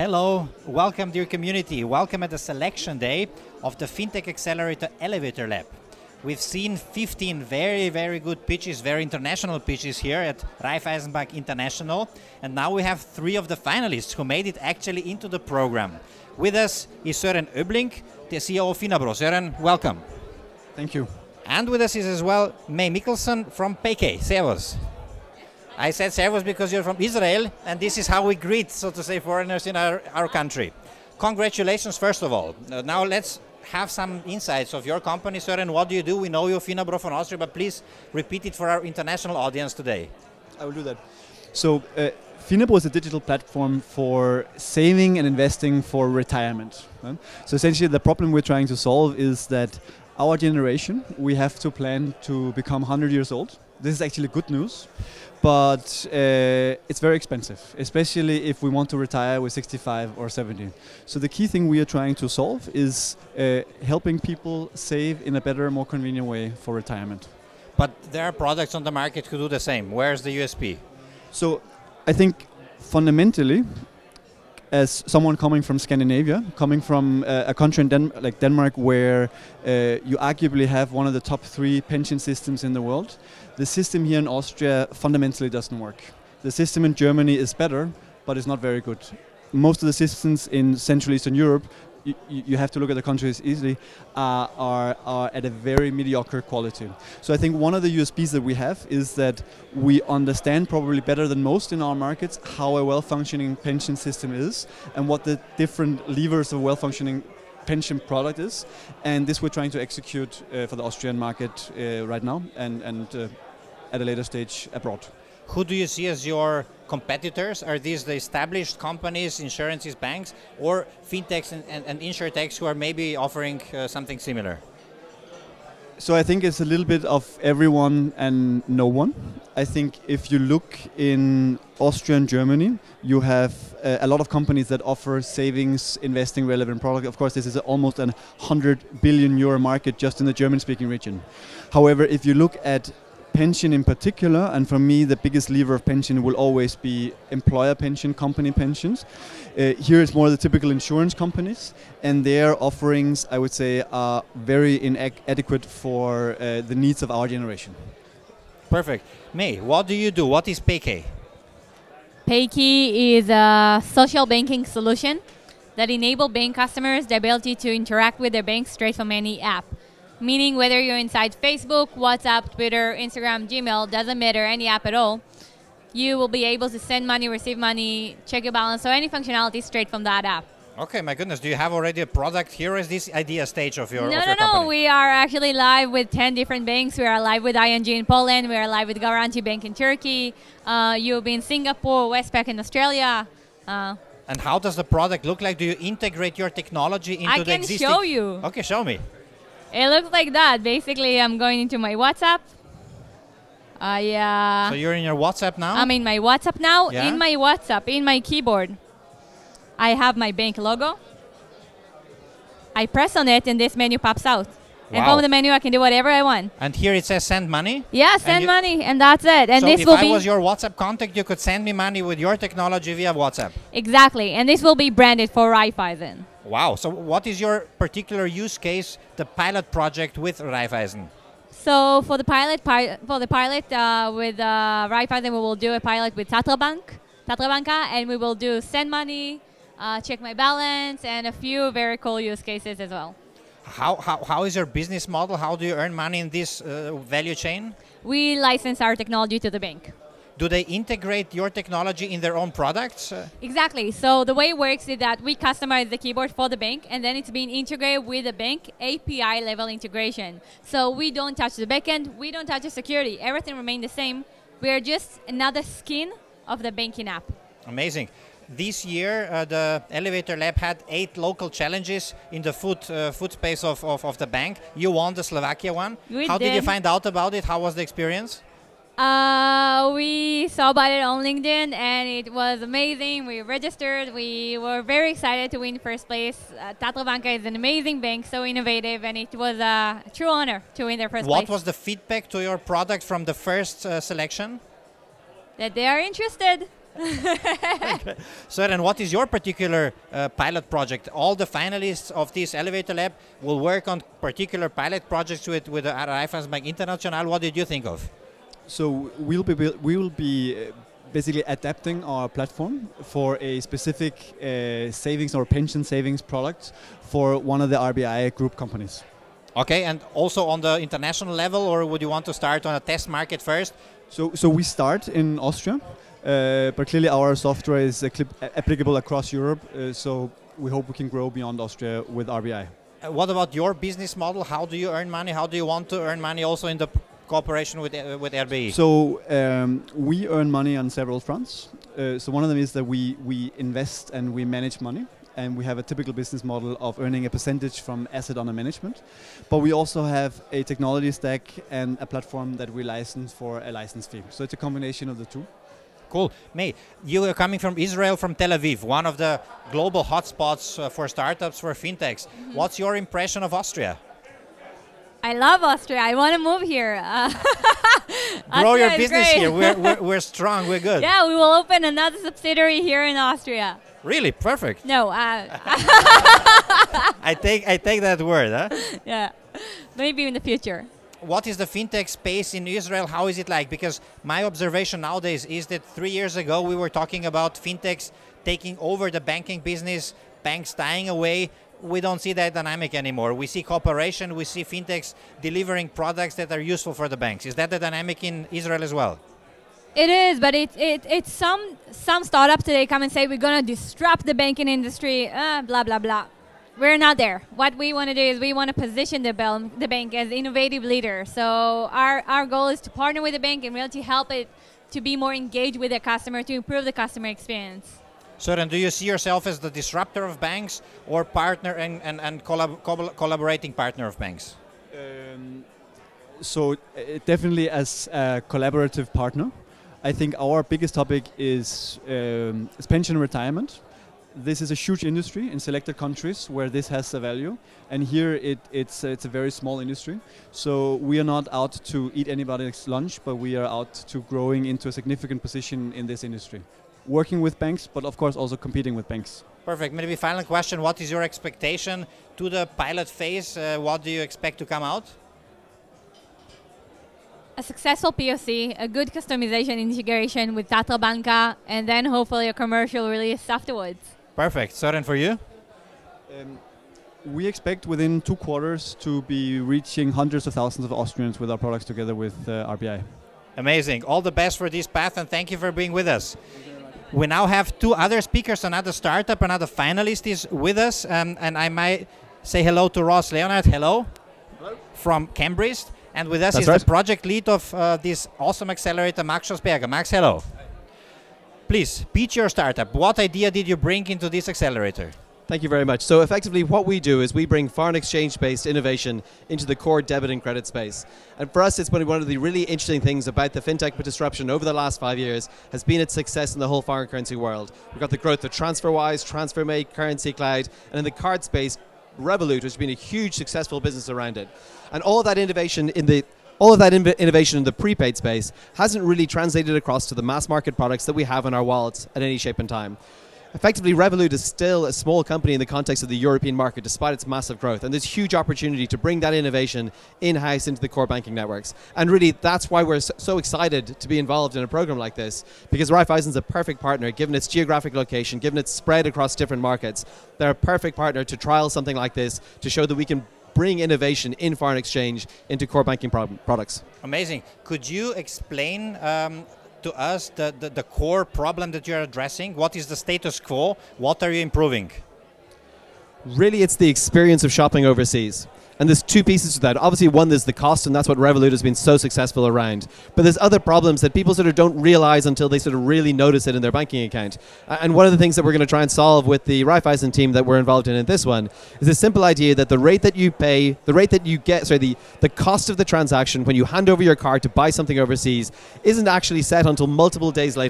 Hello, welcome dear community. Welcome at the selection day of the FinTech Accelerator Elevator Lab. We've seen 15 very good pitches, very international pitches here at Raiffeisen Bank International. And now we have 3 of the finalists who made it actually into the program. With us is Søren Øblink, the CEO of Finabro. Søren, welcome. Thank you. And with us is as well May Mikkelsen from Payke. Servus. I said servus because you're from Israel, and this is how we greet, so to say, foreigners in our country. Congratulations, first of all. Now let's have some insights of your company, Søren. What do you do? We know you're Finabro from Austria, but please repeat it for our international audience today. I will do that. So, Finabro is a digital platform for saving and investing for retirement. So essentially the problem we're trying to solve is that our generation, we have to plan to become 100 years old. This is actually good news, but it's very expensive, especially if we want to retire with 65 or 70. So the key thing we are trying to solve is helping people save in a better, more convenient way for retirement. But there are products on the market who do the same. Where's the USP? So I think fundamentally, as someone coming from Scandinavia, coming from a country like Denmark, where you arguably have one of the top 3 pension systems in the world, the system here in Austria fundamentally doesn't work. The system in Germany is better, but it's not very good. Most of the systems in Central Eastern Europe, you have to look at the countries easily, are at a very mediocre quality. So I think one of the USPs that we have is that we understand probably better than most in our markets how a well-functioning pension system is and what the different levers of a well-functioning pension product is. And this we're trying to execute for the Austrian market right now and at a later stage abroad. Who do you see as your competitors? Are these the established companies, insurances, banks, or fintechs and insurtechs who are maybe offering something similar? So I think it's a little bit of everyone and no one. I think if you look in Austria and Germany, you have a lot of companies that offer savings, investing relevant products. Of course, this is almost a 100 billion euro market just in the German-speaking region. However, if you look at pension in particular, and for me the biggest lever of pension will always be employer pension, company pensions. Here it's more the typical insurance companies, and their offerings, I would say, are very inadequate for the needs of our generation. Perfect. May, what do you do? What is Payke? Payke is a social banking solution that enables bank customers the ability to interact with their bank straight from any app. Meaning whether you're inside Facebook, WhatsApp, Twitter, Instagram, Gmail, doesn't matter, any app at all, you will be able to send money, receive money, check your balance, so any functionality straight from that app. Okay, my goodness. Do you have already a product here? Or is this idea stage of your company? No. We are actually live with 10 different banks. We are live with ING in Poland. We are live with Garanti Bank in Turkey. You'll be in Singapore, Westpac in Australia. And how does the product look like? Do you integrate your technology into the existing? I can show you. Okay, show me. It looks like that. Basically, I'm going into my WhatsApp. So you're in your WhatsApp now? I'm in my WhatsApp now. Yeah? In my WhatsApp, in my keyboard, I have my bank logo. I press on it and this menu pops out. Wow. And from the menu, I can do whatever I want. And here it says send money? Yeah, send money, and that's it. And so this if will I be was your WhatsApp contact, you could send me money with your technology via WhatsApp? Exactly. And this will be branded for Raiffeisen. Wow. So what is your particular use case, the pilot project with Raiffeisen? So for the pilot with Raiffeisen, we will do a pilot with Tatra Banka, and we will do send money, check my balance, and a few very cool use cases as well. How is your business model? How do you earn money in this value chain? We license our technology to the bank. Do they integrate your technology in their own products? Exactly. So the way it works is that we customize the keyboard for the bank, and then it's being integrated with the bank API level integration. So we don't touch the backend, we don't touch the security. Everything remains the same. We are just another skin of the banking app. Amazing. This year, the Elevator Lab had 8 local challenges in the food space of the bank. You won the Slovakia one. How did you find out about it? How was the experience? We saw about it on LinkedIn, and it was amazing. We registered. We were very excited to win first place. Tatra Banka is an amazing bank, so innovative, and it was a true honor to win their first place. What was the feedback to your product from the first selection? That they are interested. Okay. So then what is your particular pilot project? All the finalists of this Elevator Lab will work on particular pilot projects with the Raiffeisenbank International. What did you think of? So we will be basically adapting our platform for a specific savings or pension savings product for one of the RBI group companies. Okay, and also on the international level, or would you want to start on a test market first? So we start in Austria, but clearly our software is applicable across Europe. So we hope we can grow beyond Austria with RBI. What about your business model? How do you earn money? How do you want to earn money also in the cooperation with RBI? So we earn money on several fronts. So one of them is that we invest and we manage money. And we have a typical business model of earning a percentage from asset under management. But we also have a technology stack and a platform that we license for a license fee. So it's a combination of the two. Cool. May, you are coming from Israel, from Tel Aviv, one of the global hotspots for startups, for fintechs. Mm-hmm. What's your impression of Austria? I love Austria. I want to move here. Grow your business here. We're strong. We're good. Yeah, we will open another subsidiary here in Austria. Really? Perfect. No. I take that word. Huh? Yeah. Maybe in the future. What is the fintech space in Israel? How is it like? Because my observation nowadays is that 3 years ago we were talking about fintechs taking over the banking business, banks dying away. We don't see that dynamic anymore. We see cooperation, we see fintechs delivering products that are useful for the banks. Is that the dynamic in Israel as well? It is, but it's some startups today come and say we're going to disrupt the banking industry, blah, blah, blah. We're not there. What we want to do is we want to position the bank as innovative leader. So our goal is to partner with the bank and really to help it to be more engaged with the customer, to improve the customer experience. So then do you see yourself as the disruptor of banks or partner and collaborating partner of banks? So definitely as a collaborative partner. I think our biggest topic is pension retirement. This is a huge industry in selected countries where this has a value, and here it's a very small industry. So we are not out to eat anybody's lunch, but we are out to growing into a significant position in this industry, working with banks, but of course also competing with banks. Perfect. Maybe final question: what is your expectation to the pilot phase? What do you expect to come out? A successful POC, a good customization integration with Tatra Banka, and then hopefully a commercial release afterwards. Perfect. Søren, for you? We expect within 2 quarters to be reaching hundreds of thousands of Austrians with our products together with RBI. Amazing. All the best for this path, and thank you for being with us. We now have 2 other speakers, another startup, another finalist is with us, and I might say hello to Ross Leonard. Hello. Hello. From Cambridge. And with us That's is right. the project lead of this awesome accelerator, Max Schosberger. Max, hello. Please, pitch your startup. What idea did you bring into this accelerator? Thank you very much. So effectively what we do is we bring foreign exchange-based innovation into the core debit and credit space. And for us, it's been one of the really interesting things about the fintech disruption over the last 5 years has been its success in the whole foreign currency world. We've got the growth of TransferWise, TransferMate, Currency Cloud, and in the card space, Revolut, which has been a huge successful business around it. And all of that innovation in the prepaid space hasn't really translated across to the mass market products that we have in our wallets at any shape and time. Effectively, Revolut is still a small company in the context of the European market despite its massive growth, and there's huge opportunity to bring that innovation in-house into the core banking networks. And really, that's why we're so excited to be involved in a program like this, because Raiffeisen's a perfect partner, given its geographic location, given its spread across different markets. They're a perfect partner to trial something like this to show that we can bring innovation in foreign exchange into core banking products. Amazing. Could you explain to us the core problem that you're addressing? What is the status quo? What are you improving? Really, it's the experience of shopping overseas. And there's 2 pieces to that. Obviously, one, there's the cost, and that's what Revolut has been so successful around. But there's other problems that people sort of don't realize until they sort of really notice it in their banking account. And one of the things that we're going to try and solve with the Raiffeisen team that we're involved in this one is the simple idea that the rate that you pay, the cost of the transaction when you hand over your card to buy something overseas isn't actually set until multiple days later.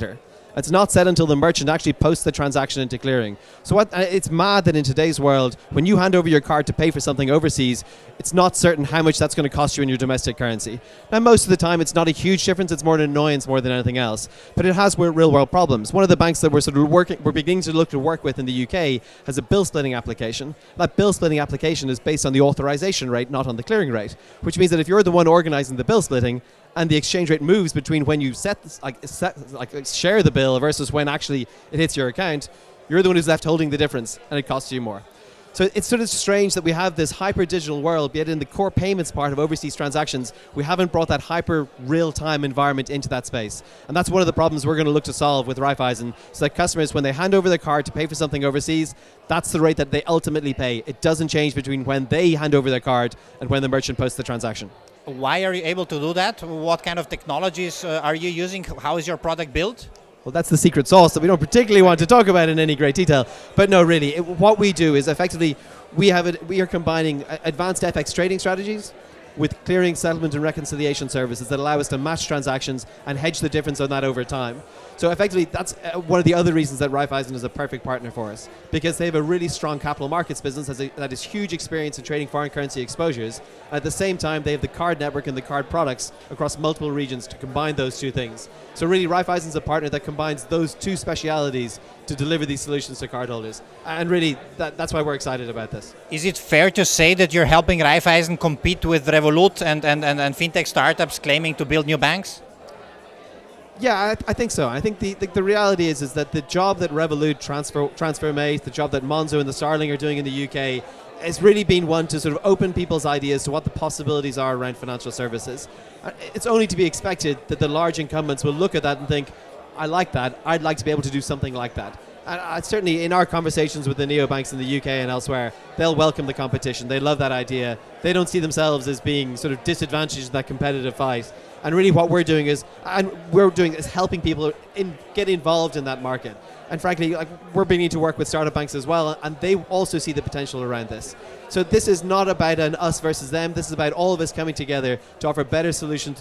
It's not set until the merchant actually posts the transaction into clearing. So it's mad that in today's world, when you hand over your card to pay for something overseas, it's not certain how much that's going to cost you in your domestic currency. Now, most of the time, it's not a huge difference. It's more an annoyance more than anything else. But it has real-world problems. One of the banks that we're beginning to look to work with in the UK has a bill splitting application. That bill splitting application is based on the authorization rate, not on the clearing rate, which means that if you're the one organizing the bill splitting and the exchange rate moves between when you share the bill versus when actually it hits your account, you're the one who's left holding the difference, and it costs you more. So it's sort of strange that we have this hyper-digital world, yet in the core payments part of overseas transactions, we haven't brought that hyper-real-time environment into that space. And that's one of the problems we're going to look to solve with Raiffeisen, so that customers, when they hand over their card to pay for something overseas, that's the rate that they ultimately pay. It doesn't change between when they hand over their card and when the merchant posts the transaction. Why are you able to do that? What kind of technologies are you using? How is your product built? Well, that's the secret sauce that we don't particularly want to talk about in any great detail. But no, really, what we do is effectively we are combining advanced FX trading strategies with clearing, settlement, and reconciliation services that allow us to match transactions and hedge the difference on that over time. So effectively, that's one of the other reasons that Raiffeisen is a perfect partner for us, because they have a really strong capital markets business that has huge experience in trading foreign currency exposures. At the same time, they have the card network and the card products across multiple regions to combine those two things. So really, Raiffeisen is a partner that combines those two specialities to deliver these solutions to cardholders. And really, that's why we're excited about this. Is it fair to say that you're helping Raiffeisen compete with Revolut and fintech startups claiming to build new banks? Yeah, I think so. I think the reality is that the job that Revolut, TransferMate, the job that Monzo and the Starling are doing in the UK has really been one to sort of open people's ideas to what the possibilities are around financial services. It's only to be expected that the large incumbents will look at that and think, I like that, I'd like to be able to do something like that. And certainly in our conversations with the neobanks in the UK and elsewhere, they'll welcome the competition. They love that idea. They don't see themselves as being sort of disadvantaged in that competitive fight. And really what we're doing is helping people get involved in that market. And frankly, we're beginning to work with startup banks as well, and they also see the potential around this. So this is not about an us versus them. This is about all of us coming together to offer better solutions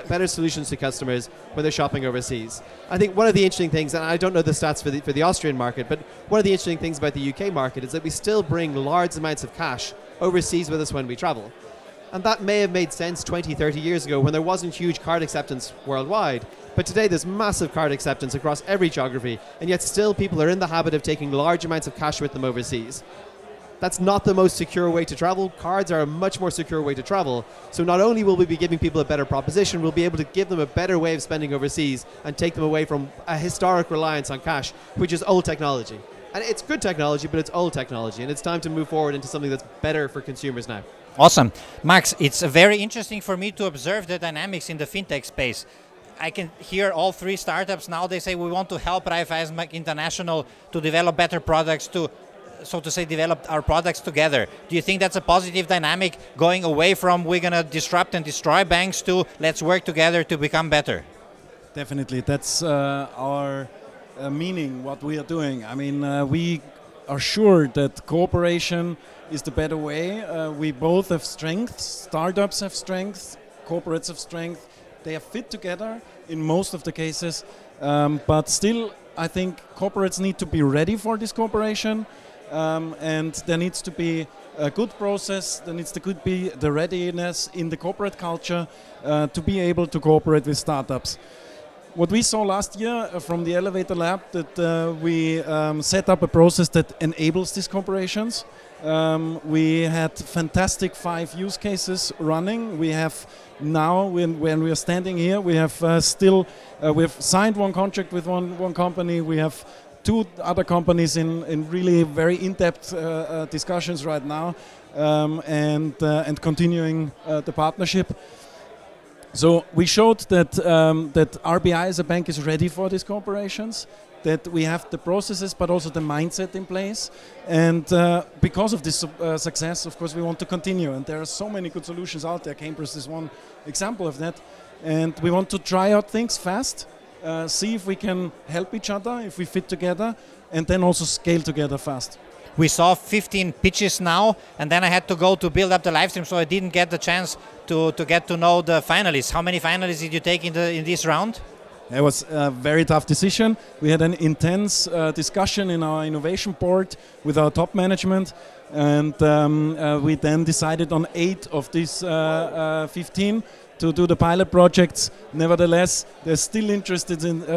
to customers when they're shopping overseas. I think one of the interesting things, and I don't know the stats for the Austrian market, but one of the interesting things about the UK market is that we still bring large amounts of cash overseas with us when we travel. And that may have made sense 20, 30 years ago when there wasn't huge card acceptance worldwide. But today there's massive card acceptance across every geography, and yet still people are in the habit of taking large amounts of cash with them overseas. That's not the most secure way to travel. Cards are a much more secure way to travel. So not only will we be giving people a better proposition, we'll be able to give them a better way of spending overseas and take them away from a historic reliance on cash, which is old technology. And it's good technology, but it's old technology, and it's time to move forward into something that's better for consumers now. Awesome. Max, it's very interesting for me to observe the dynamics in the fintech space. I can hear all three startups now, they say we want to help Raiffeisen Bank International to develop better products, to, so to say, develop our products together. Do you think that's a positive dynamic, going away from we're going to disrupt and destroy banks to let's work together to become better? Definitely. That's our meaning, what we are doing. I mean, we are sure that cooperation is the better way. We both have strengths. Startups have strengths, corporates have strength. They are fit together in most of the cases, but still I think corporates need to be ready for this cooperation, and there needs to be a good process, there needs to be the readiness in the corporate culture to be able to cooperate with startups. What we saw last year from the Elevator Lab, that we set up a process that enables these corporations. We had fantastic 5 use cases running. We have now, when we are standing here, we have we've signed one contract with one company. We have 2 other companies in really very in-depth discussions right now, and continuing the partnership. So we showed that RBI as a bank is ready for these corporations, that we have the processes but also the mindset in place, and because of this success, of course, we want to continue, and there are so many good solutions out there. Cambridge is one example of that, and we want to try out things fast, see if we can help each other, if we fit together, and then also scale together fast. We saw 15 pitches now, and then I had to go to build up the live stream, so I didn't get the chance to get to know the finalists. How many finalists did you take in this round? It was a very tough decision. We had an intense discussion in our innovation board with our top management, and we then decided on 8 of these 15 to do the pilot projects. Nevertheless, there's still interest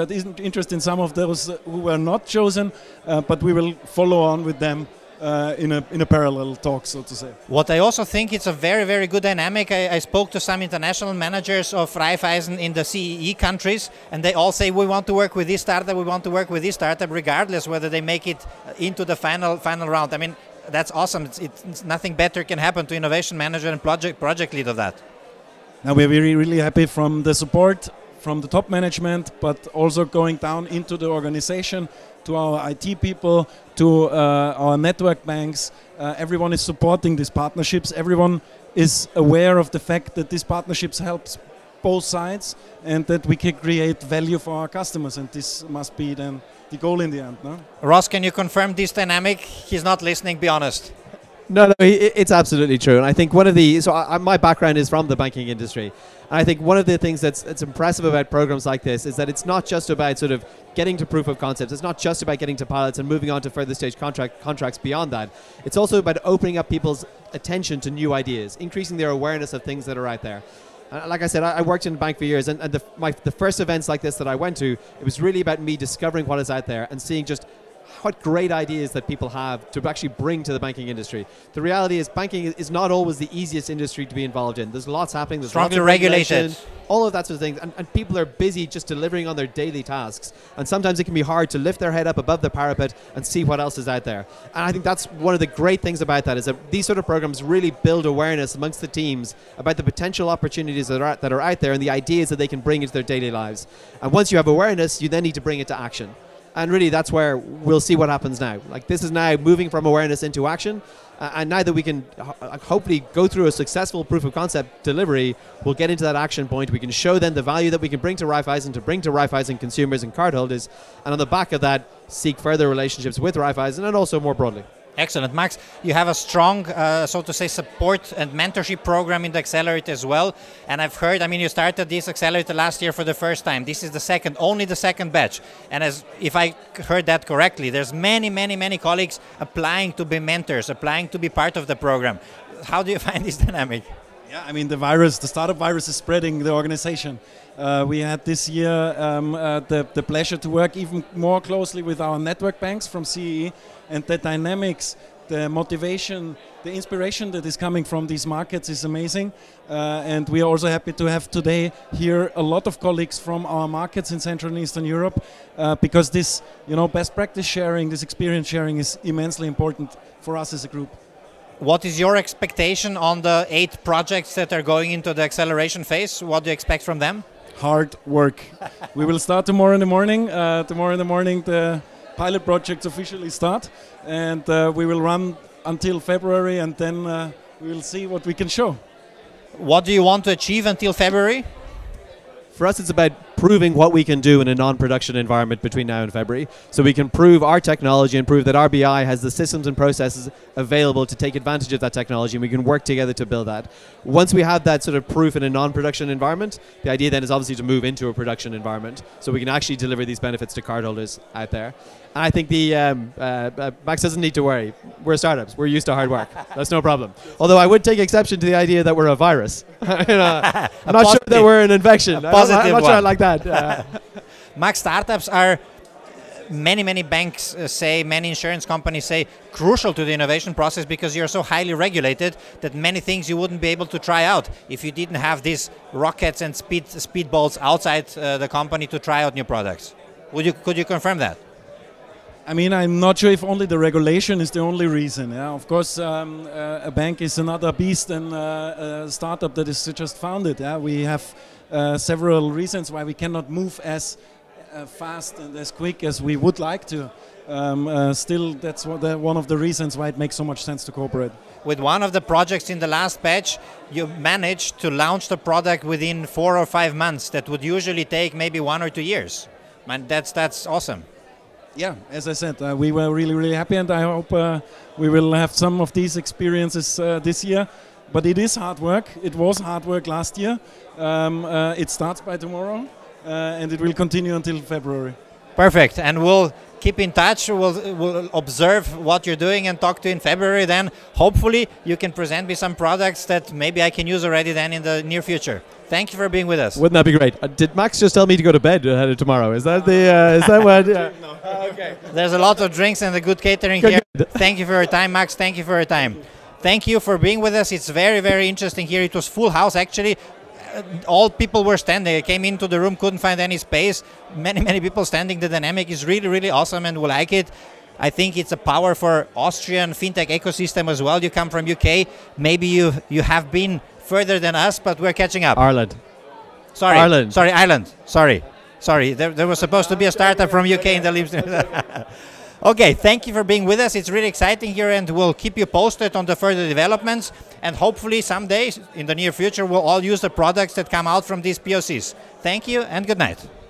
in some of those who were not chosen, but we will follow on with them in a parallel talk, so to say. What I also think it's a very, very good dynamic. I spoke to some international managers of Raiffeisen in the CEE countries, and they all say, we want to work with this startup, we want to work with this startup, regardless whether they make it into the final round. I mean, that's awesome. It's nothing better can happen to innovation manager and project lead of that. Now we're really, really happy from the support from the top management, but also going down into the organization, to our IT people, to our network banks. Everyone is supporting these partnerships. Everyone is aware of the fact that these partnerships helps both sides and that we can create value for our customers, and this must be then the goal in the end. No? Ross, can you confirm this dynamic? He's not listening, be honest. No, it's absolutely true. And I think one of the, my background is from the banking industry. And I think one of the things that's impressive about programs like this is that it's not just about sort of getting to proof of concepts. It's not just about getting to pilots and moving on to further stage contracts beyond that. It's also about opening up people's attention to new ideas, increasing their awareness of things that are out there. Like I said, I worked in a bank for years, and the first events like this that I went to, it was really about me discovering what is out there and seeing just what great ideas that people have to actually bring to the banking industry. The reality is banking is not always the easiest industry to be involved in. There's lots happening. There's strongly lots of regulated. All of that sort of thing. And people are busy just delivering on their daily tasks. And sometimes it can be hard to lift their head up above the parapet and see what else is out there. And I think that's one of the great things about that, is that these sort of programs really build awareness amongst the teams about the potential opportunities that are out there and the ideas that they can bring into their daily lives. And once you have awareness, you then need to bring it to action. And really, that's where we'll see what happens now. Like, this is now moving from awareness into action. And now that we can hopefully go through a successful proof of concept delivery, we'll get into that action point. We can show them the value that we can bring to Raiffeisen, to bring to Raiffeisen consumers and cardholders. And on the back of that, seek further relationships with Raiffeisen and also more broadly. Excellent. Max, you have a strong, so to say, support and mentorship program in the Accelerator as well. And I've heard, I mean, you started this Accelerator last year for the first time. This is only the second batch. And as if I heard that correctly, there's many colleagues applying to be mentors, applying to be part of the program. How do you find this dynamic? Yeah, I mean, the startup virus is spreading the organization. We had this year the pleasure to work even more closely with our network banks from CEE, and the dynamics, the motivation, the inspiration that is coming from these markets is amazing. And we are also happy to have today here a lot of colleagues from our markets in Central and Eastern Europe, because this, best practice sharing, this experience sharing is immensely important for us as a group. What is your expectation on the 8 projects that are going into the acceleration phase? What do you expect from them? Hard work. We will start tomorrow in the morning. The pilot projects officially start, and we will run until February, and then we will see what we can show. What do you want to achieve until February? For us, it's about proving what we can do in a non-production environment between now and February. So we can prove our technology and prove that RBI has the systems and processes available to take advantage of that technology, and we can work together to build that. Once we have that sort of proof in a non-production environment, the idea then is obviously to move into a production environment so we can actually deliver these benefits to cardholders out there. And I think Max doesn't need to worry. We're startups. We're used to hard work. That's no problem. Although I would take exception to the idea that we're a virus. I'm not sure that we're an infection. I'm not sure I like that. Max, startups are, many banks say, many insurance companies say, crucial to the innovation process, because you're so highly regulated that many things you wouldn't be able to try out if you didn't have these rockets and speedballs outside the company to try out new products. Could you confirm that? I mean, I'm not sure if only the regulation is the only reason. Yeah? Of course, a bank is another beast than a startup that is just founded. Yeah? We have several reasons why we cannot move as fast and as quick as we would like to. Still, that's one of the reasons why it makes so much sense to cooperate. With one of the projects in the last batch, you managed to launch the product within 4 or 5 months. That would usually take maybe 1 or 2 years. Man, that's awesome. Yeah, as I said, we were really happy, and I hope we will have some of these experiences this year. But it is hard work. It was hard work last year. It starts by tomorrow, and it will continue until February. Perfect. And we'll keep in touch. We'll observe what you're doing and talk to you in February. Then hopefully you can present me some products that maybe I can use already then in the near future. Thank you for being with us. Wouldn't that be great? Did Max just tell me to go to bed ahead of tomorrow? Is that the? Is that what? Yeah. Okay. There's a lot of drinks and a good catering here. Thank you for your time, Max. Thank you for your time. Thank you for being with us. It's very, very interesting here. It was full house actually. All people were standing. I came into the room, couldn't find any space. Many people standing. The dynamic is really, really awesome, and we like it. I think it's a power for Austrian fintech ecosystem as well. You come from UK. Maybe you have been further than us, but we're catching up. Ireland. Sorry, Ireland. Sorry, Ireland. Sorry. There was supposed to be a startup from UK in the leaves. Okay, thank you for being with us. It's really exciting here, and we'll keep you posted on the further developments. And hopefully someday in the near future, we'll all use the products that come out from these POCs. Thank you and good night.